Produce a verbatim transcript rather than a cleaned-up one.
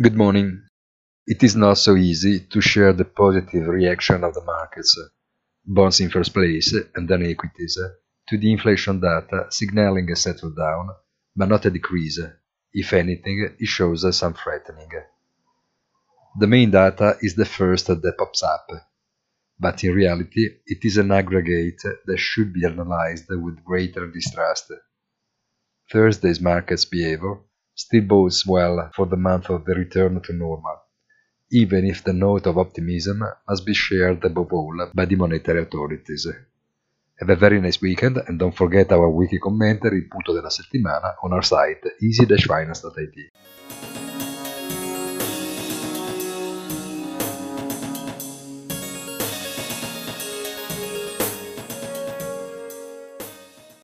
Good morning. It is not so easy to share the positive reaction of the markets, bonds in first place and then equities, to the inflation data signaling a settle down, but not a decrease. If anything, it shows some threatening. The main data is the first that pops up, but in reality it is an aggregate that should be analyzed with greater distrust. Thursday's market's behavior still bodes well for the month of the return to normal, even if the note of optimism must be shared above all by the monetary authorities. Have a very nice weekend and don't forget our weekly commentary, il punto della settimana, on our site easy dash finance dot it.